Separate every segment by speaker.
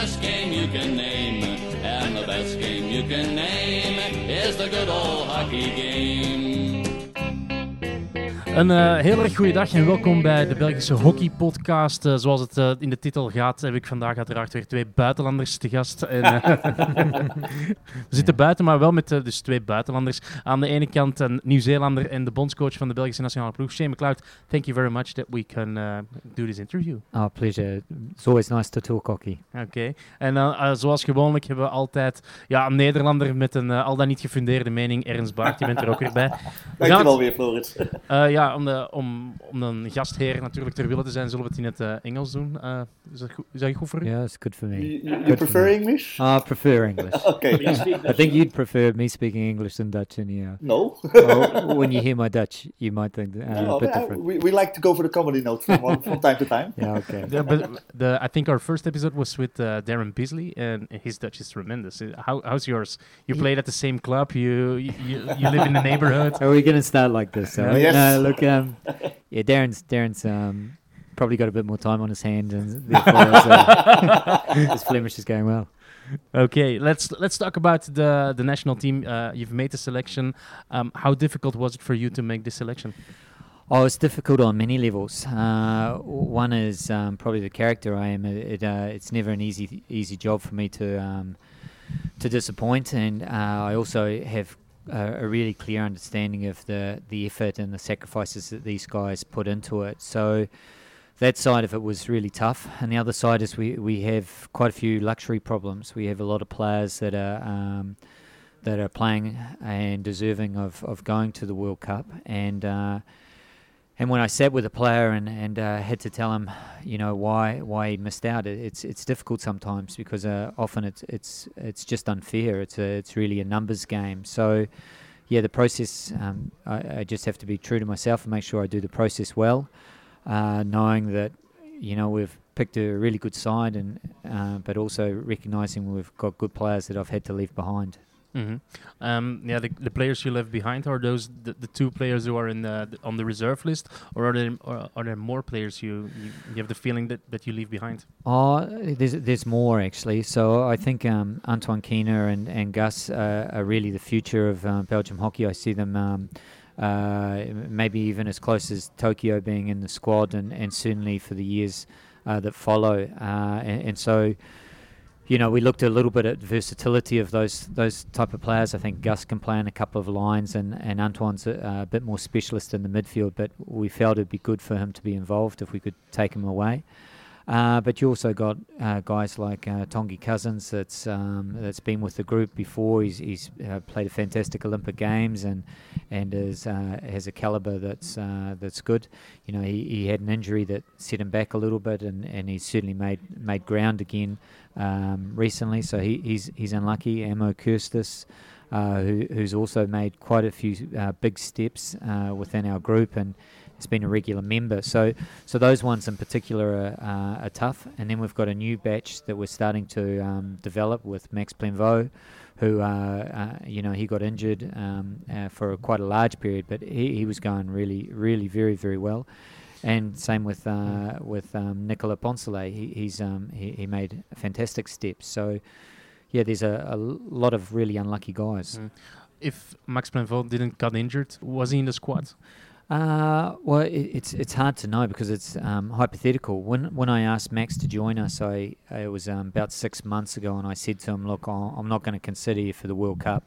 Speaker 1: best game you can name. And the best game you can name is the good old hockey game.
Speaker 2: Een heel erg goede dag en welkom bij de Belgische Hockey Podcast. Zoals het in de titel gaat, heb ik vandaag uiteraard weer twee buitenlanders te gast. En, we zitten buiten, maar wel met dus twee buitenlanders. Aan de ene kant een Nieuw-Zeelander en de bondscoach van de Belgische nationale ploeg, Shane McLeod. Thank you very much that we can do this interview.
Speaker 3: Oh, pleasure. It's always nice to talk hockey.
Speaker 2: Oké. En zoals gewoonlijk hebben we altijd een Nederlander met een al dan niet gefundeerde mening. Ernst Baart, je bent er ook weer bij.
Speaker 4: Dankjewel weer, Floris.
Speaker 2: Om een gastheer natuurlijk ter wille te zijn, zullen we het in het Engels doen. Is dat goed voor u?
Speaker 3: Yeah, it's good for me.
Speaker 4: You prefer English?
Speaker 3: I prefer English.
Speaker 4: Okay.
Speaker 3: I think you'd prefer me speaking English than Dutch anyhow.
Speaker 4: No.
Speaker 3: Well, when you hear my Dutch, you might think a bit different.
Speaker 4: We like to go for the comedy note from time to time.
Speaker 3: Yeah, okay.
Speaker 2: Yeah, but I think our first episode was with Darren Beasley, and his Dutch is tremendous. How's yours? You played at the same club. You live in the neighborhood.
Speaker 3: Are we going to start like this?
Speaker 4: Yes.
Speaker 3: No, look, Darren's probably got a bit more time on his hand, and therefore his Flemish is going well.
Speaker 2: Okay, let's talk about the national team. You've made the selection. How difficult was it for you to make this selection?
Speaker 3: Oh, it's difficult on many levels. One is probably the character I am. It's never an easy job for me to disappoint, and I also have a really clear understanding of the effort and the sacrifices that these guys put into it. So that side of it was really tough. And the other side is we have quite a few luxury problems. We have a lot of players that are playing and deserving of going to the World Cup. And when I sat with a player and had to tell him, why he missed out, it's difficult sometimes because often it's just unfair. It's really a numbers game. So, the process. I just have to be true to myself and make sure I do the process well, knowing that we've picked a really good side, but also recognizing we've got good players that I've had to leave behind.
Speaker 2: Mm-hmm. The players you left behind, are those the two players who are on the reserve list, or are there more players you have the feeling that you leave behind?
Speaker 3: Oh, there's more actually. So I think Antoine Keener and Gus are really the future of Belgium hockey. I see them maybe even as close as Tokyo being in the squad, and certainly for the years that follow. And so, we looked a little bit at versatility of those type of players. I think Gus can play in a couple of lines, and Antoine's a bit more specialist in the midfield, but we felt it'd be good for him to be involved if we could take him away. But you also got guys like Tongi Cousins that's been with the group before. He's played a fantastic Olympic Games and has a caliber that's good. He had an injury that set him back a little bit, and he's certainly made ground again recently. So he's unlucky. Amo Kirstis, who's also made quite a few big steps within our group and has been a regular member. So those ones in particular are tough. And then we've got a new batch that we're starting to develop with Max Plenveau, who he got injured for quite a large period, but he was going really, really very, very well. And same with Nicolas Poncelet. He made fantastic steps. So there's a lot of really unlucky guys.
Speaker 2: If Max Plenveau didn't get injured, was he in the squad?
Speaker 3: Well, it's hard to know because it's hypothetical. When I asked Max to join us, it was about 6 months ago, and I said to him, "Look, I'm not going to consider you for the World Cup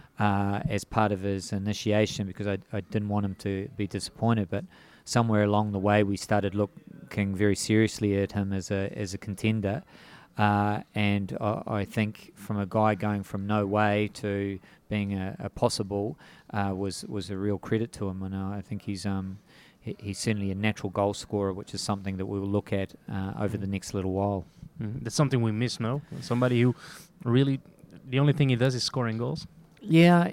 Speaker 3: as part of his initiation because I didn't want him to be disappointed." But somewhere along the way, we started looking very seriously at him as a contender. And I think from a guy going from no way to being a possible was a real credit to him, and I think he's certainly a natural goal scorer, which is something that we will look at over the next little while.
Speaker 2: That's something we miss, no? Somebody who really the only thing he does is scoring goals.
Speaker 3: Yeah,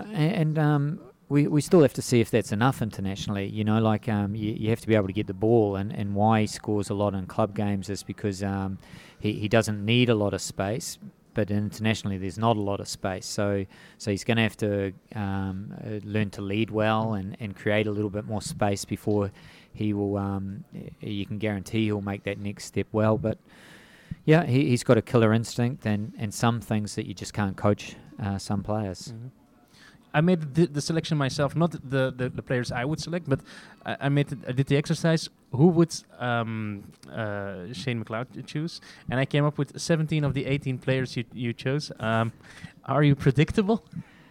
Speaker 3: and we still have to see if that's enough internationally. You have to be able to get the ball, and why he scores a lot in club games is because he doesn't need a lot of space, but internationally there's not a lot of space. So he's going to have to learn to lead well and create a little bit more space before he will. You can guarantee he'll make that next step well, but. Yeah, he's got a killer instinct and some things that you just can't coach some players.
Speaker 2: Mhm. I made the selection myself, not the players I would select, but I did the exercise. Who would Shane McLeod choose? And I came up with 17 of the 18 players you chose. Are you predictable?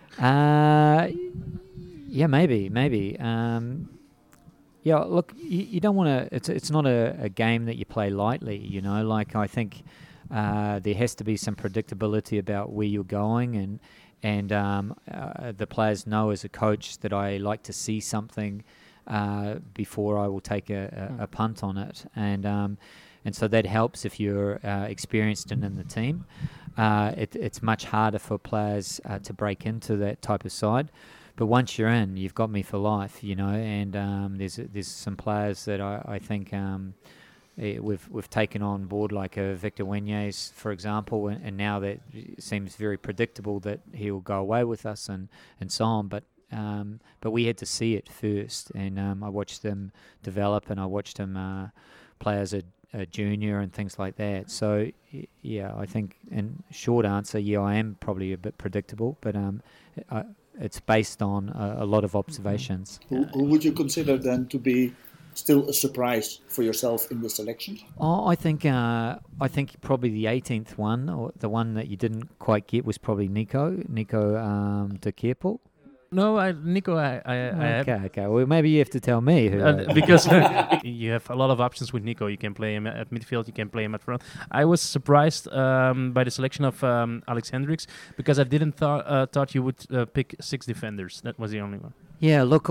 Speaker 3: Yeah, maybe. Yeah, look, you don't want to. It's not a game that you play lightly. You know, like I think there has to be some predictability about where you're going, and the players know as a coach that I like to see something before I will take a punt on it, and so that helps if you're experienced and in the team. It's much harder for players to break into that type of side. But once you're in, you've got me for life, you know. And there's some players that I think we've taken on board, like Victor Wenjes, for example, and now that it seems very predictable that he'll go away with us and so on. But we had to see it first, and I watched them develop, and I watched them play as a junior and things like that. So yeah, I think in short answer, yeah, I am probably a bit predictable, but it's based on a lot of observations.
Speaker 4: Who would you consider then to be still a surprise for yourself in the selection?
Speaker 3: Oh, I think probably the 18th one, or the one that you didn't quite get, was probably Nico de Kerpel.
Speaker 2: No, Nico, I
Speaker 3: Okay. Well, maybe you have to tell me who.
Speaker 2: because you have a lot of options with Nico. You can play him at midfield, you can play him at front. I was surprised by the selection of Alex Hendricks, because I didn't thought you would pick 6 defenders. That was the only one.
Speaker 3: Yeah, look,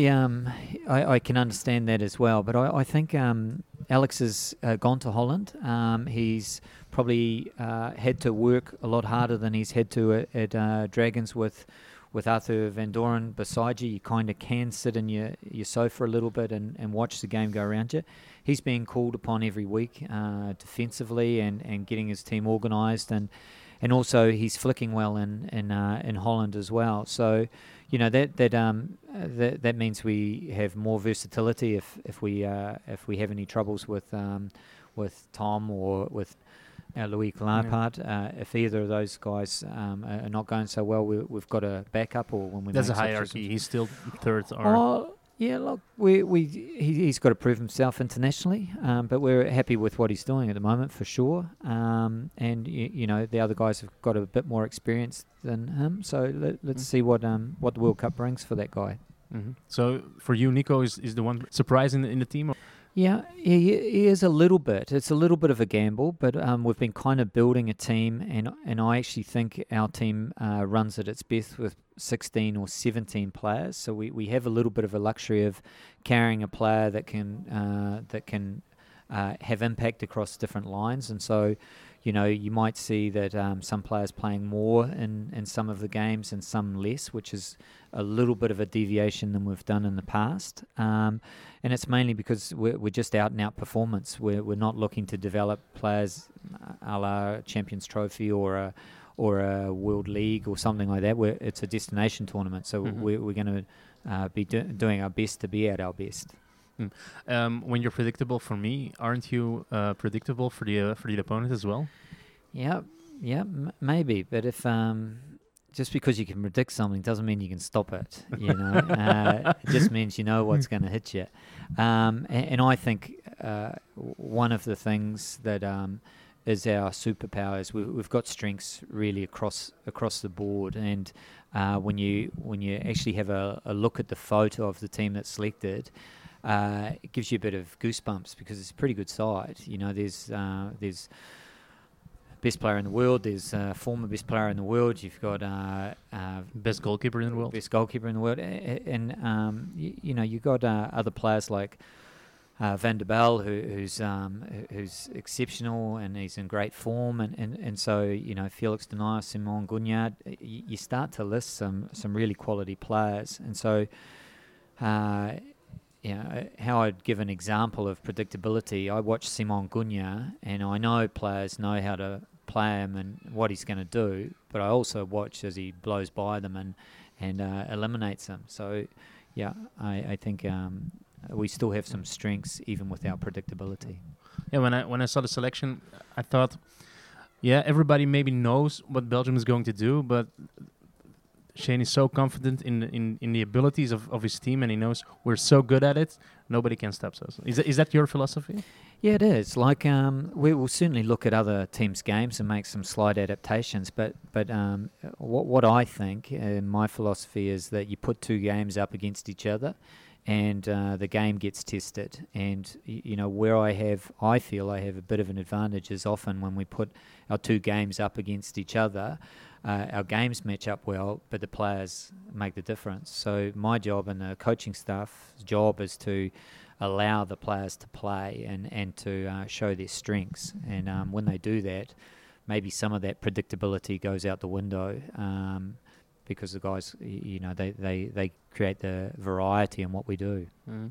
Speaker 3: I can understand that as well, but I think Alex has gone to Holland. He's probably had to work a lot harder than he's had to at Dragons with Arthur Van Doren beside you. You kind of can sit in your sofa a little bit and watch the game go around you. He's being called upon every week defensively and getting his team organised, and also he's flicking well in Holland as well. So, you know, that means we have more versatility if we have any troubles with Tom or with Louis Lampard. If either of those guys are not going so well, we've got a backup, or when we
Speaker 2: There's a
Speaker 3: make
Speaker 2: hierarchy. He's still third.
Speaker 3: Yeah, look, he's got to prove himself internationally, but we're happy with what he's doing at the moment for sure. And you know, the other guys have got a bit more experience than him, so let's see what the World Cup brings for that guy.
Speaker 2: Mm-hmm. So for you, Nico is the one surprise in the team?
Speaker 3: Yeah, he is a little bit. It's a little bit of a gamble, but we've been kind of building a team, and I actually think our team runs at its best with 16 or 17 players. So we have a little bit of a luxury of carrying a player that can have impact across different lines, and so, you know, you might see that some players playing more in some of the games and some less, which is a little bit of a deviation than we've done in the past. And it's mainly because we're just out and out performance. We're not looking to develop players a la Champions Trophy or a World League or something like that. It's a destination tournament, so we're going to be doing our best to be at our best.
Speaker 2: When you're predictable for me, aren't you predictable for the opponent as well?
Speaker 3: Yeah, maybe. But if just because you can predict something doesn't mean you can stop it. You know, it just means you know what's going to hit you. And I think one of the things that is our superpower is we've got strengths really across the board. And when you actually have a look at the photo of the team that's selected, it gives you a bit of goosebumps because it's a pretty good side. You know, there's best player in the world. There's former best player in the world. You've got
Speaker 2: best goalkeeper in the world.
Speaker 3: Best goalkeeper in the world, and you know, you've got other players like Van der Bel, who's exceptional and he's in great form, and so, you know, Felix Denayer, Simon Gugnard. You start to list some really quality players, and so. You know, how I'd give an example of predictability, I watch Simon Gugnard and I know players know how to play him and what he's going to do, but I also watch as he blows by them and eliminates them. So, yeah, I think we still have some strengths even without predictability.
Speaker 2: Yeah, when I saw the selection, I thought, yeah, everybody maybe knows what Belgium is going to do, but Shane is so confident in the abilities of his team, and he knows we're so good at it, nobody can stop us. Is that your philosophy?
Speaker 3: Yeah, it is. Like, we will certainly look at other teams' games and make some slight adaptations. But what I think, my philosophy is that you put two games up against each other, and the game gets tested. And where I feel I have a bit of an advantage is often when we put our two games up against each other. Our games match up well, but the players make the difference. So my job and the coaching staff's job is to allow the players to play and to show their strengths. And when they do that, maybe some of that predictability goes out the window because the guys, they create the variety in what we do.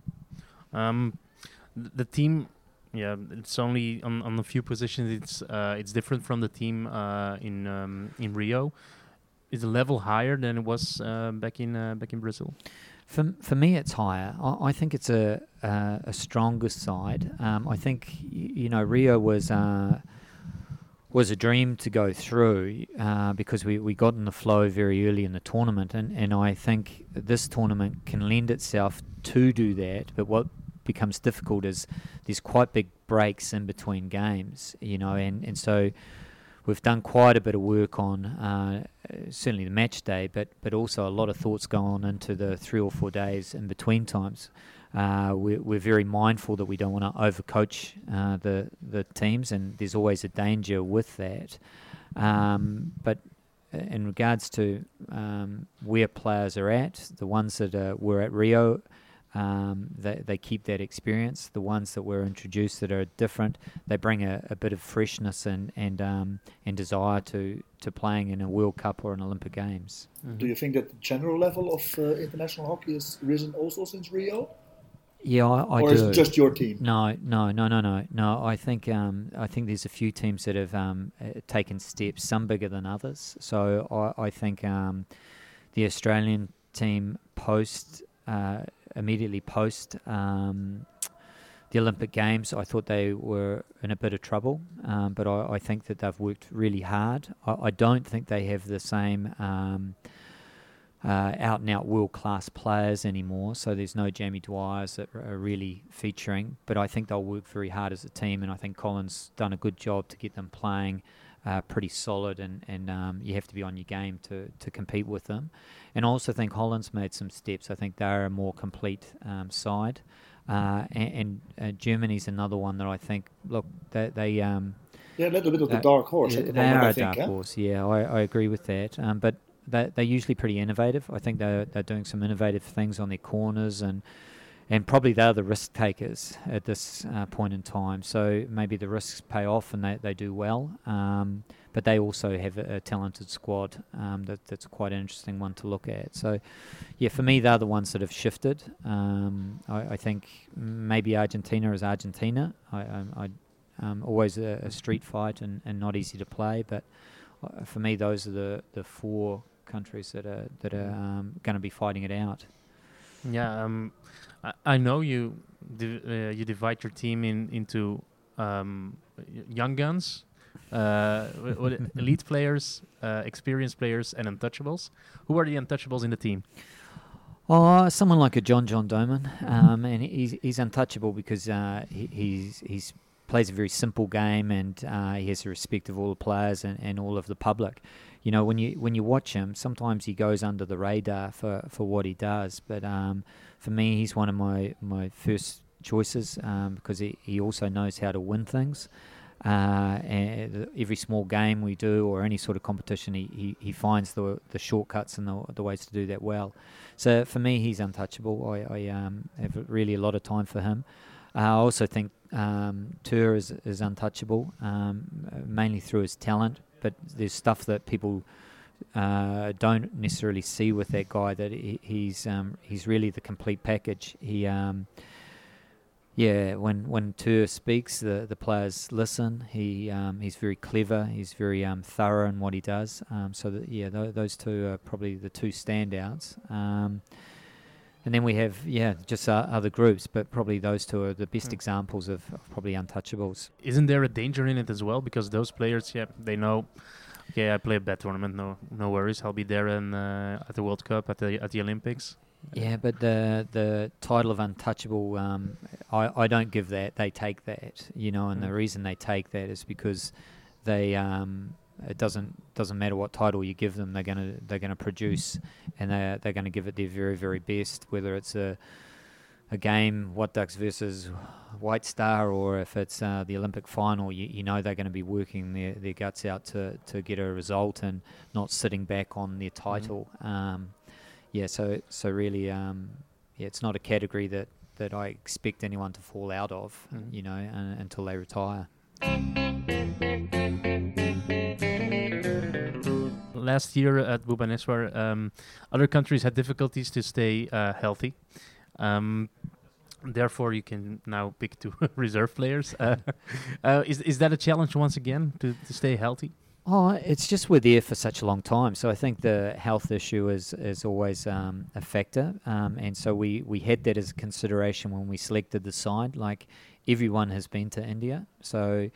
Speaker 2: The team, yeah, it's only on a few positions. It's different from the team in Rio. Is the level higher than it was back in Brazil?
Speaker 3: For me, it's higher. I think it's a stronger side. I think Rio was a dream to go through because we got in the flow very early in the tournament, and I think this tournament can lend itself to do that. But what becomes difficult is there's quite big breaks in between games, and so we've done quite a bit of work on certainly the match day, but also a lot of thoughts go on into the 3 or 4 days in between times. We're very mindful that we don't want to overcoach the teams, and there's always a danger with that. But in regards to where players are at, the ones that were at Rio, they keep that experience. The ones that were introduced that are different, they bring a bit of freshness and desire to playing in a World Cup or an Olympic Games.
Speaker 4: Mm-hmm. Do you think that the general level of international hockey has risen also since Rio?
Speaker 3: Yeah, I
Speaker 4: or
Speaker 3: do.
Speaker 4: Is it just your team?
Speaker 3: No. I think there's a few teams that have taken steps, some bigger than others. So I think the Australian team immediately post the Olympic Games, I thought they were in a bit of trouble, but I think that they've worked really hard. I don't think they have the same out-and-out world-class players anymore, so there's no Jamie Dwyers that are really featuring, but I think they'll work very hard as a team, and I think Colin's done a good job to get them playing pretty solid, and you have to be on your game to compete with them. And I also think Holland's made some steps. I think they're a more complete side, and Germany's another one that I think, look, they
Speaker 4: they're a little bit of the dark horse at the
Speaker 3: they
Speaker 4: moment,
Speaker 3: are
Speaker 4: I
Speaker 3: a
Speaker 4: think.
Speaker 3: dark horse, yeah, I agree with that, but they're usually pretty innovative. I think they're doing some innovative things on their corners, and probably they're the risk takers at this point in time. So maybe the risks pay off and they do well. But they also have a talented squad that's quite an interesting one to look at. So, yeah, for me, they're the ones that have shifted. I think maybe Argentina is Argentina. I always a street fight and not easy to play. But for me, those are the 4 countries that are going to be fighting it out.
Speaker 2: Yeah, I know you divide your team into young guns, elite players, experienced players, and untouchables. Who are the untouchables in the team?
Speaker 3: Oh, someone like a John Doman, and he's untouchable because he's plays a very simple game, and he has the respect of all the players and all of the public. When you watch him, sometimes he goes under the radar for what he does. But for me, he's one of my first choices because he also knows how to win things. And every small game we do or any sort of competition, he finds the shortcuts and the ways to do that well. So for me, he's untouchable. I have really a lot of time for him. I also think Tur is untouchable, mainly through his talent. But there's stuff that people don't necessarily see with that guy, that he's really the complete package. When Tur speaks, the players listen. He's very clever. He's very thorough in what he does. Those two are probably the 2 standouts. And then we have, just other groups, but probably those two are the best examples of probably untouchables.
Speaker 2: Isn't there a danger in it as well? Because those players, they know, okay, I play a bad tournament, no worries, I'll be there at the World Cup, at the Olympics.
Speaker 3: Yeah, but the title of untouchable, I don't give that. They take that, and the reason they take that is because they it doesn't matter what title you give them, they're gonna produce, and they're gonna give it their very, very best, whether it's a game, What Ducks versus White Star, or if it's the Olympic final, they're going to be working their guts out to get a result and not sitting back on their title. So really, it's not a category that I expect anyone to fall out of, until they retire.
Speaker 2: Last year at Bhubaneswar, other countries had difficulties to stay healthy. Therefore, you can now pick two reserve players. Is that a challenge once again to stay healthy?
Speaker 3: Oh, it's just we're there for such a long time. So I think the health issue is always a factor. And so we had that as a consideration when we selected the side. Like, everyone has been to India. So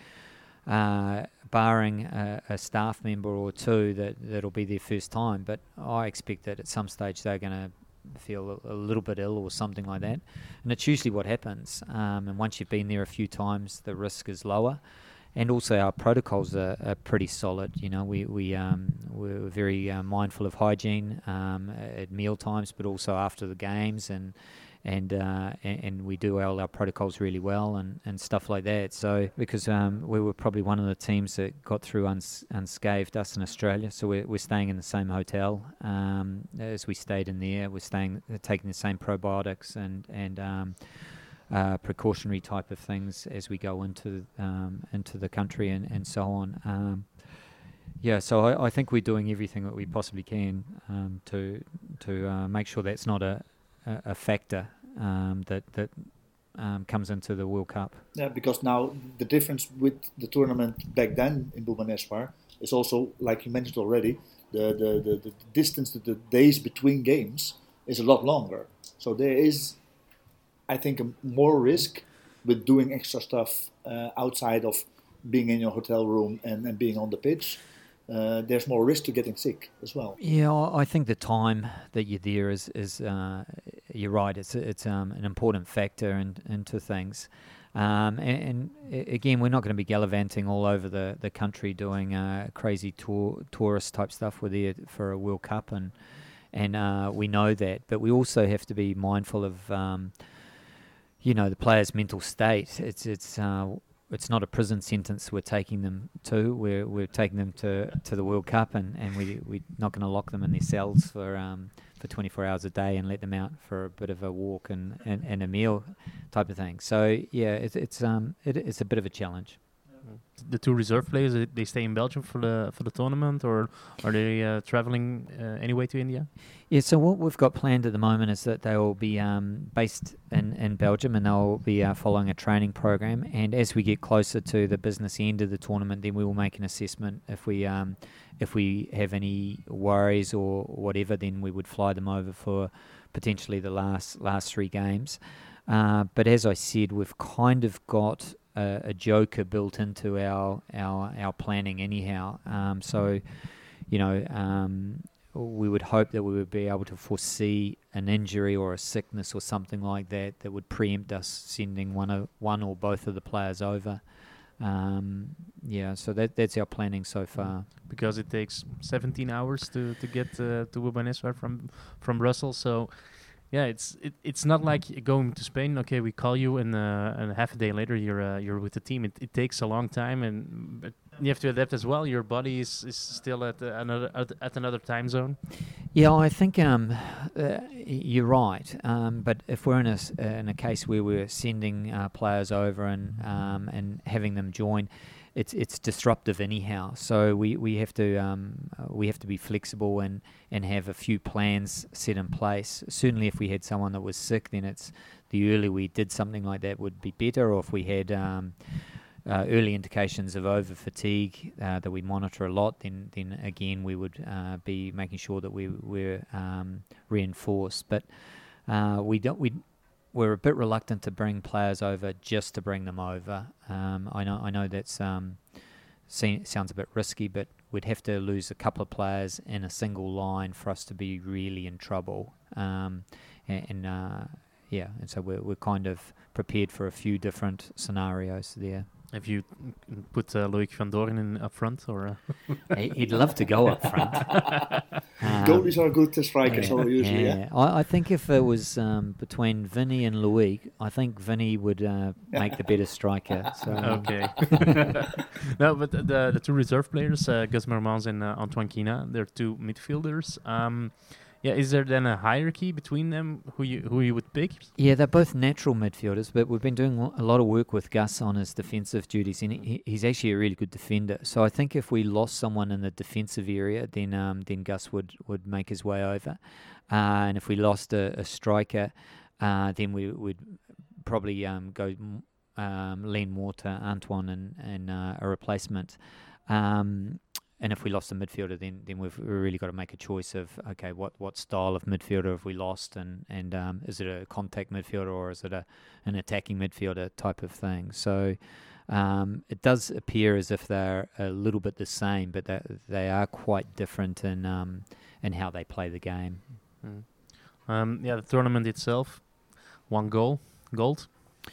Speaker 3: barring a staff member or two that'll be their first time. But I expect that at some stage they're going to feel a little bit ill or something like that. And it's usually what happens. And once you've been there a few times, the risk is lower. And also our protocols are pretty solid. We're very mindful of hygiene at meal times, but also after the games, and we do all our protocols really well and stuff like that. So because we were probably one of the teams that got through unscathed, us in Australia. So we're staying in the same hotel as we stayed in there. We're taking the same probiotics and precautionary type of things as we go into the country and so on. So I think we're doing everything that we possibly can to make sure that's not a factor that comes into the World Cup.
Speaker 4: Yeah, because now the difference with the tournament back then in Bhubaneswar is also, like you mentioned already, the distance, the days between games is a lot longer. So there is, I think, more risk with doing extra stuff outside of being in your hotel room and being on the pitch. There's more risk to getting sick as well.
Speaker 3: Yeah, I think the time that you're there is you're right. It's an important factor into things. And again, we're not going to be gallivanting all over the country doing crazy tourist type stuff. We're there for a World Cup, and we know that. But we also have to be mindful of the player's mental state. It's not a prison sentence we're taking them to. We're taking them to the World Cup, and we're not going to lock them in their cells for 24 hours a day and let them out for a bit of a walk and a meal type of thing. So yeah, it's a bit of a challenge.
Speaker 2: The two reserve players, they stay in Belgium for the tournament, or are they traveling anyway to India?
Speaker 3: Yeah, so what we've got planned at the moment is that they will be based in Belgium, and they'll be following a training program. And as we get closer to the business end of the tournament, then we will make an assessment. If we have any worries or whatever, then we would fly them over for potentially the last 3 games. But as I said, we've kind of got a joker built into our planning anyhow. We would hope that we would be able to foresee an injury or a sickness or something like that would preempt us sending one or both of the players over. So that's our planning so far.
Speaker 2: Because it takes 17 hours to get to Bhubaneswar from Brussels, so yeah, it's not like going to Spain. Okay, we call you, and half a day later you're with the team. It takes a long time, but you have to adapt as well. Your body is still at another time zone.
Speaker 3: Yeah, I think you're right. But if we're in a case where we're sending players over and having them join, it's disruptive anyhow. So we have to be flexible and have a few plans set in place. Certainly, if we had someone that was sick, then it's the earlier we did something like that would be better. Or if we had early indications of over fatigue that we monitor a lot, then again we would be making sure that we're reinforced. But we're a bit reluctant to bring players over just to bring them over. I know that's sounds a bit risky, but we'd have to lose a couple of players in a single line for us to be really in trouble. And so we're kind of prepared for a few different scenarios there.
Speaker 2: Have you put Loic van Doorn in up front, or?
Speaker 3: He'd love to go up front.
Speaker 4: Goalies are good strikers, so usually. Yeah.
Speaker 3: I think if it was between Vinny and Loic, I think Vinny would make the better striker. So.
Speaker 2: Okay. No, but the two reserve players, Gus Mermans and Antoine Quina, they're two midfielders. Is there then a hierarchy between them who you would pick?
Speaker 3: Yeah, they're both natural midfielders, but we've been doing a lot of work with Gus on his defensive duties, and he's actually a really good defender. So I think if we lost someone in the defensive area, then Gus would make his way over, and if we lost a striker, then we would probably go lean more to Antoine and a replacement. And if we lost a midfielder, then we've really got to make a choice of, okay, what style of midfielder have we lost, and is it a contact midfielder or is it an attacking midfielder type of thing? So it does appear as if they're a little bit the same, but they are quite different in how they play the game.
Speaker 2: The tournament itself, 1 goal, gold.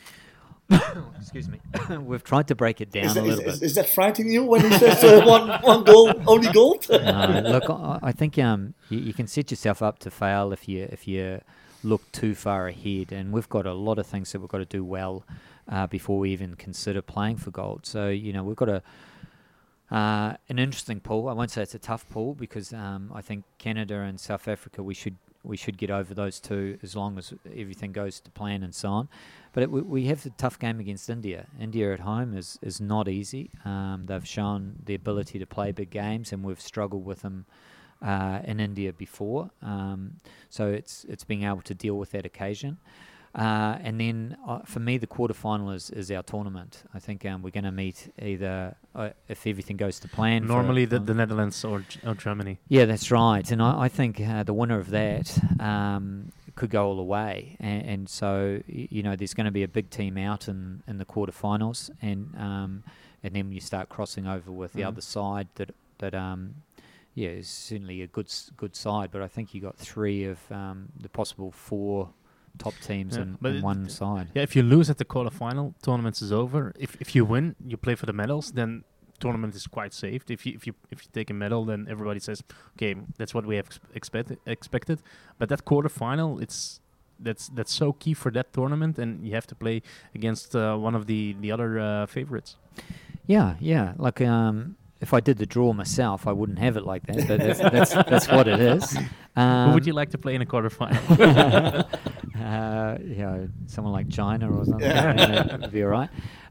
Speaker 3: Excuse me. We've tried to break it down a little bit.
Speaker 4: Is that frightening you when he says one goal, only gold?
Speaker 3: Look, I think you can set yourself up to fail if you look too far ahead, and we've got a lot of things that we've got to do well before we even consider playing for gold. So we've got an interesting pool. I won't say it's a tough pool because I think Canada and South Africa we should get over those two as long as everything goes to plan and so on. But we have the tough game against India. India at home is not easy. They've shown the ability to play big games, and we've struggled with them in India before. So it's being able to deal with that occasion. And then for me, the quarterfinal is our tournament. I think we're going to meet either, if everything goes to plan.
Speaker 2: Normally the Netherlands or Germany.
Speaker 3: Yeah, that's right. And I think the winner of that could go all the way. And so, there's going to be a big team out in the quarterfinals. And then you start crossing over with the other side that is certainly a good side. But I think you got 3 of the possible 4 top teams in one side.
Speaker 2: Yeah, if you lose at the quarterfinal, tournament is over. If you win, you play for the medals, then tournament is quite safe. If you take a medal, then everybody says, okay, that's what we have expected. But that quarterfinal, that's so key for that tournament, and you have to play against one of the other favorites.
Speaker 3: Yeah. Like if I did the draw myself, I wouldn't have it like that. But that's what it is.
Speaker 2: Who would you like to play in a quarterfinal?
Speaker 3: Someone like China or something. Would be all right.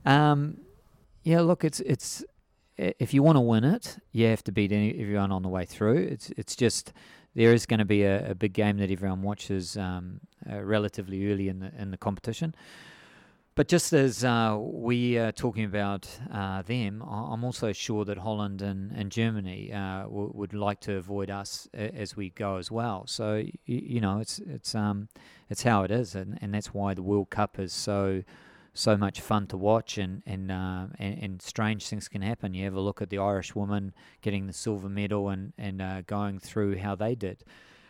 Speaker 3: Look, it's if you want to win it, you have to beat everyone on the way through. It's just there is going to be a big game that everyone watches relatively early in the competition. But just as we are talking about them, I'm also sure that Holland and Germany would like to avoid us as we go as well. So it's how it is, and that's why the World Cup is so much fun to watch, and strange things can happen. You have a look at the Irish woman getting the silver medal and going through how they did.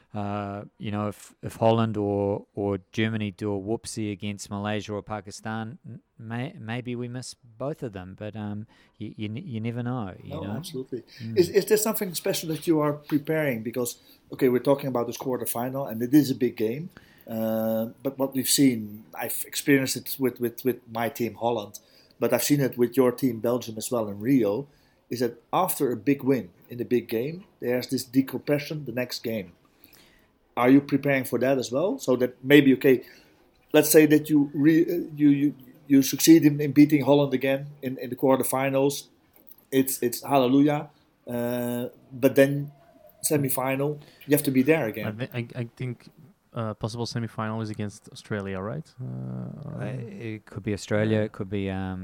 Speaker 3: If Holland or Germany do a whoopsie against Malaysia or Pakistan, maybe we miss both of them. But you never know. You know?
Speaker 4: Absolutely. Is there something special that you are preparing? Because we're talking about this quarterfinal, and it is a big game. But what we've seen, I've experienced it with my team Holland, but I've seen it with your team Belgium as well in Rio. Is that after a big win in a big game, there's this decompression the next game. Are you preparing for that as well? So that maybe, let's say that you succeed in beating Holland again in the quarterfinals. It's hallelujah. But then semi-final, you have to be there again.
Speaker 2: I think possible semi-final is against Australia, right?
Speaker 3: It could be Australia. It could be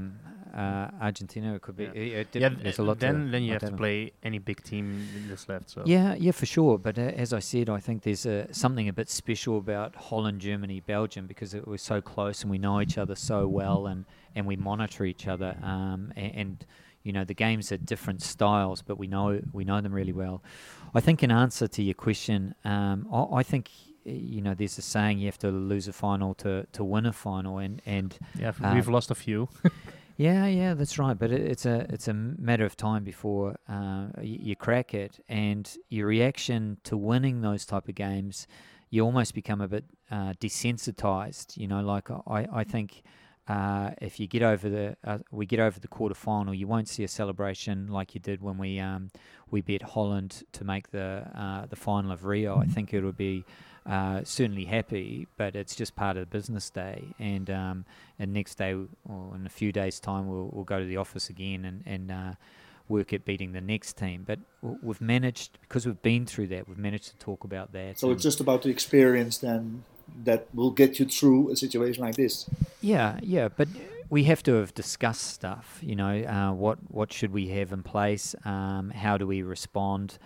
Speaker 3: Argentina. It could be.
Speaker 2: Yeah.
Speaker 3: There's a lot.
Speaker 2: Then you have to
Speaker 3: tell.
Speaker 2: play any big team that's left. So
Speaker 3: Yeah, for sure. But as I said, I think there's something a bit special about Holland, Germany, Belgium, because it was so close and we know each other so well, and we monitor each other. And you know, the games are different styles, but we know them really well. I think in answer to your question, I think, you know, there's a saying, you have to lose a final to win a final, and
Speaker 2: yeah, we've lost a few.
Speaker 3: Yeah, that's right. But it's a matter of time before you crack it, and your reaction to winning those type of games, you almost become a bit desensitized. You know, like I think if you get over we get over the quarterfinal, you won't see a celebration like you did when we beat Holland to make the final of Rio. I think it'll be certainly happy, but it's just part of the business day. And next day, or in a few days' time, we'll go to the office again and work at beating the next team. But we've managed, because we've been through that, we've managed to talk about that.
Speaker 4: So it's just about the experience then that will get you through a situation like this.
Speaker 3: Yeah, but we have to have discussed stuff. You know, what should we have in place? How do we respond?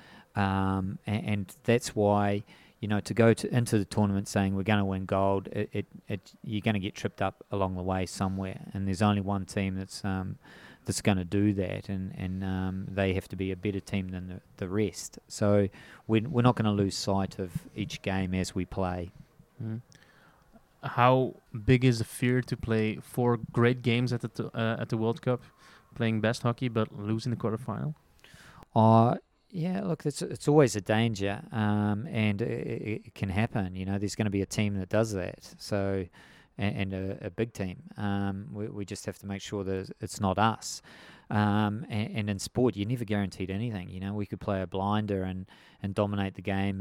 Speaker 3: And that's why, you know, to go into the tournament saying we're going to win gold, you're going to get tripped up along the way somewhere, and there's only one team that's going to do that, and they have to be a better team than the rest. So we're not going to lose sight of each game as we play.
Speaker 2: Mm. How big is the fear to play 4 great games at the World Cup, playing best hockey but losing the quarterfinal?
Speaker 3: Yeah, look, it's always a danger, and it can happen. You know, there's going to be a team that does that. So, and a big team. We just have to make sure that it's not us. And in sport, you're never guaranteed anything. You know, we could play a blinder and dominate the game,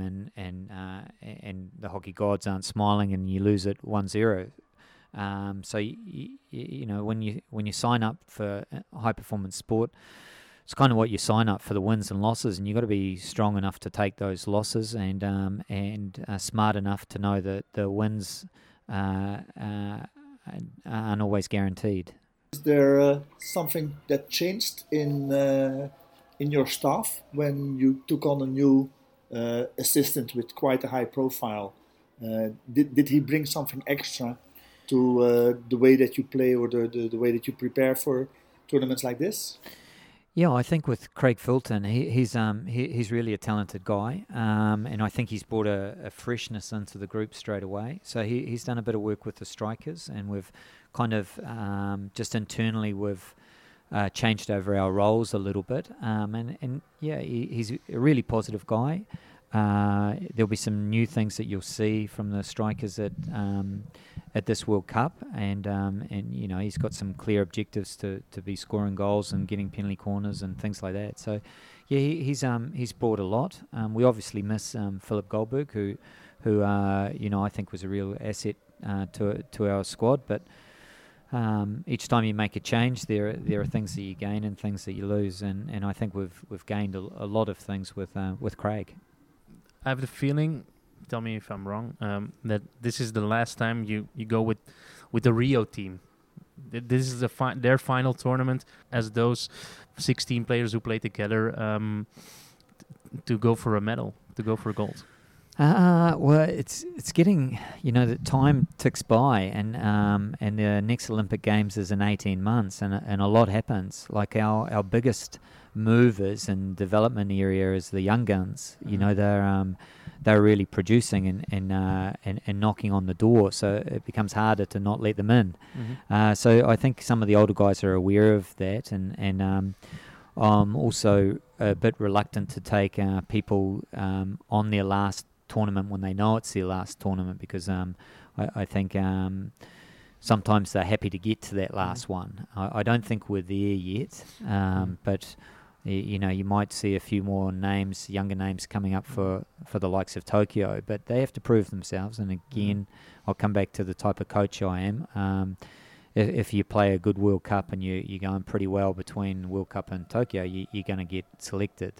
Speaker 3: and the hockey gods aren't smiling, and you lose it 1-0. So you know, when you sign up for high performance sport, it's kind of what you sign up for, the wins and losses, and you've got to be strong enough to take those losses, and smart enough to know that the wins aren't always guaranteed.
Speaker 4: Is there something that changed in your staff when you took on a new assistant with quite a high profile? Did he bring something extra to the way that you play, or the way that you prepare for tournaments like this?
Speaker 3: Yeah, I think with Craig Fulton, he's really a talented guy, and I think he's brought a freshness into the group straight away. So he's done a bit of work with the strikers, and we've kind of just internally we've changed over our roles a little bit. And yeah, he's a really positive guy. There'll be some new things that you'll see from the strikers at this World Cup, and you know, he's got some clear objectives to be scoring goals and getting penalty corners and things like that. So yeah, he's brought a lot. We obviously miss Philip Goldberg, who you know, I think was a real asset to our squad, but each time you make a change, there are things that you gain and things that you lose, and I think we've gained a lot of things with Craig.
Speaker 2: I have the feeling, tell me if I'm wrong, that this is the last time you go with the Rio team. This is their final tournament as those 16 players who play together to go for a medal, to go for gold.
Speaker 3: Well, it's getting, you know, the time ticks by, and the next Olympic Games is in 18 months, and a lot happens. Like our biggest movers and development area is the young guns. You know, they're really producing and knocking on the door, so it becomes harder to not let them in. Mm-hmm. So I think some of the older guys are aware of that, and I'm also a bit reluctant to take people on their last tournament when they know it's their last tournament, because I think sometimes they're happy to get to that last one. I don't think we're there yet, but you know, you might see a few more names, younger names coming up for the likes of Tokyo, but they have to prove themselves. And again, I'll come back to the type of coach I am. If you play a good World Cup and you're going pretty well between World Cup and Tokyo, you're going to get selected.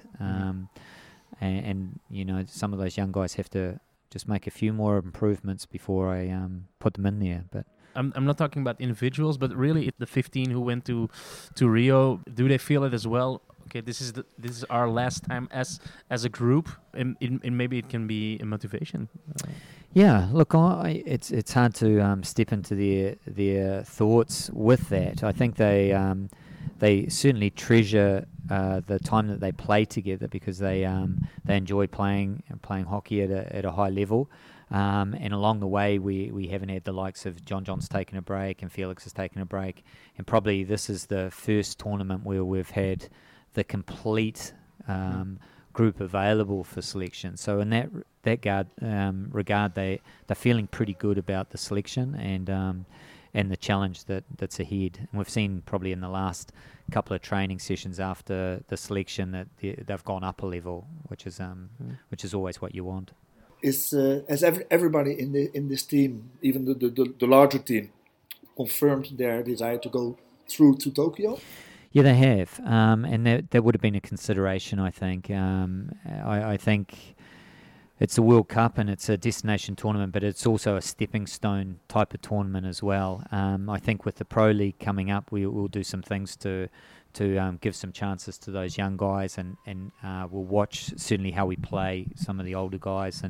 Speaker 3: And you know, some of those young guys have to just make a few more improvements before I put them in there. But
Speaker 2: I'm not talking about individuals, but really the 15 who went to Rio, do they feel it as well? Okay, this is our last time as a group, and maybe it can be a motivation.
Speaker 3: Yeah, look, it's hard to step into their thoughts with that. I think they certainly treasure the time that they play together, because they enjoy playing hockey at a high level. And along the way, we haven't had the likes of John's taken a break and Felix has taken a break, and probably this is the first tournament where we've had the complete group available for selection. So in that regard, they're feeling pretty good about the selection and the challenge that's ahead. And we've seen probably in the last couple of training sessions after the selection that they've gone up a level, which is always what you want.
Speaker 4: Has everybody in this team, even the larger team, confirmed their desire to go through to Tokyo?
Speaker 3: Yeah, they have, and that would have been a consideration, I think. I think it's a World Cup and it's a destination tournament, but it's also a stepping stone type of tournament as well. I think with the Pro League coming up, we'll do some things to give some chances to those young guys, and we'll watch certainly how we play some of the older guys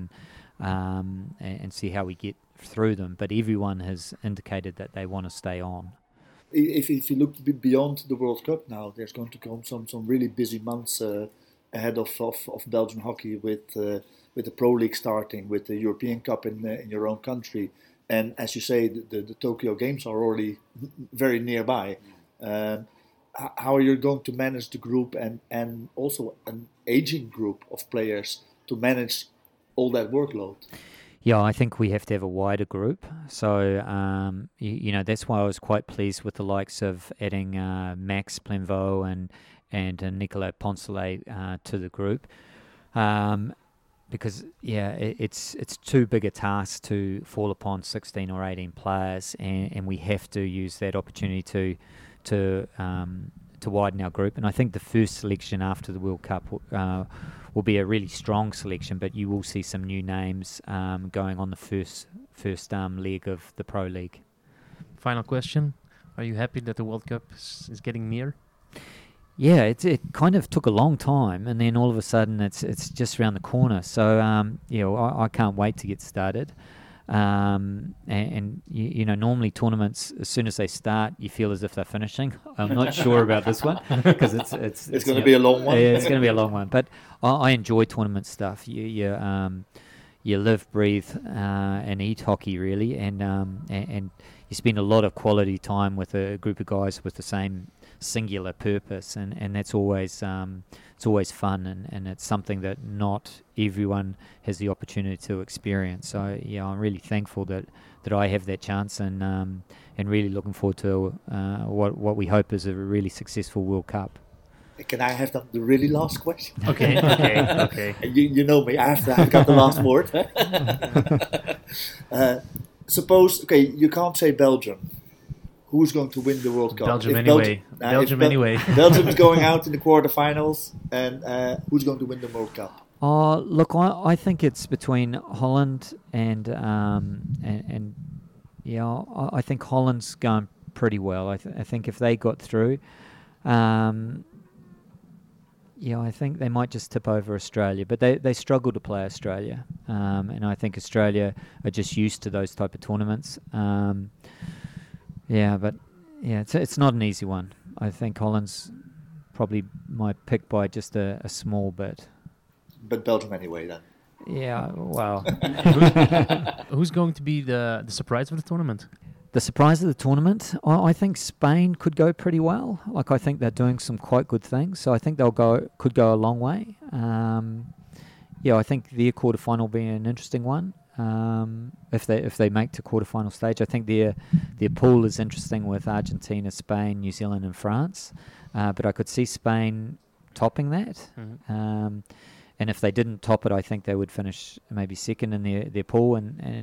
Speaker 3: and see how we get through them. But everyone has indicated that they want to stay on.
Speaker 4: If you look beyond the World Cup now, there's going to come some really busy months ahead of Belgian hockey with the Pro League starting, with the European Cup in your own country, and as you say, the Tokyo Games are already very nearby. How are you going to manage the group and also an aging group of players to manage all that workload?
Speaker 3: Yeah, I think we have to have a wider group. So, that's why I was quite pleased with the likes of adding Max Plenveau and Nicolas Poncelet to the group. Because, it's too big a task to fall upon 16 or 18 players, and we have to use that opportunity to widen our group. And I think the first selection after the World Cup will be a really strong selection, but you will see some new names going on the first leg of the Pro League.
Speaker 2: Final question. Are you happy that the World Cup is getting near?
Speaker 3: Yeah, it kind of took a long time, and then all of a sudden it's just around the corner. So, I can't wait to get started. And normally tournaments, as soon as they start, you feel as if they're finishing. I'm not sure about this one because it's
Speaker 4: going to be a long one.
Speaker 3: Yeah, it's going to be a long one. But I enjoy tournament stuff. You live, breathe, and eat hockey really, and you spend a lot of quality time with a group of guys with the same singular purpose, and that's always it's always fun, and it's something that not everyone has the opportunity to experience. So I'm really thankful that I have that chance, and really looking forward to what we hope is a really successful World Cup.
Speaker 4: Can I have the really last question?
Speaker 2: Okay.
Speaker 4: You know me, I've got the last word. Suppose, you can't say Belgium. Who's going to win the World Cup?
Speaker 2: Belgium anyway.
Speaker 4: Belgium is going out in the quarterfinals, and who's going to win the World Cup?
Speaker 3: Look, I think it's between Holland and I think Holland's going pretty well. I think if they got through, I think they might just tip over Australia, but they struggle to play Australia, and I think Australia are just used to those type of tournaments. It's not an easy one. I think Holland's probably my pick by just a small bit.
Speaker 4: But Belgium anyway, then.
Speaker 3: Yeah, well.
Speaker 2: Who's going to be the surprise of the tournament?
Speaker 3: The surprise of the tournament, I think Spain could go pretty well. I think they're doing some quite good things, so I think could go a long way. I think their quarterfinal will be an interesting one. If they make to quarterfinal stage, I think their pool is interesting with Argentina, Spain, New Zealand, and France. But I could see Spain topping that. Mm-hmm. And if they didn't top it, I think they would finish maybe second in their pool.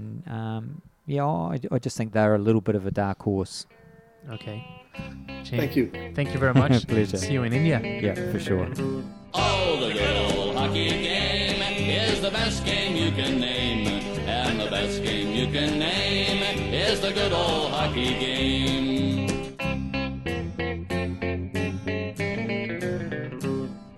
Speaker 3: I just think they're a little bit of a dark horse.
Speaker 2: Okay.
Speaker 4: Thank you.
Speaker 2: Thank you very much.
Speaker 3: Pleasure.
Speaker 2: See you in India.
Speaker 3: Yeah, for sure.
Speaker 1: Oh, the good old hockey game is the best game you can name. And and the best game you can name is the good old hockey game.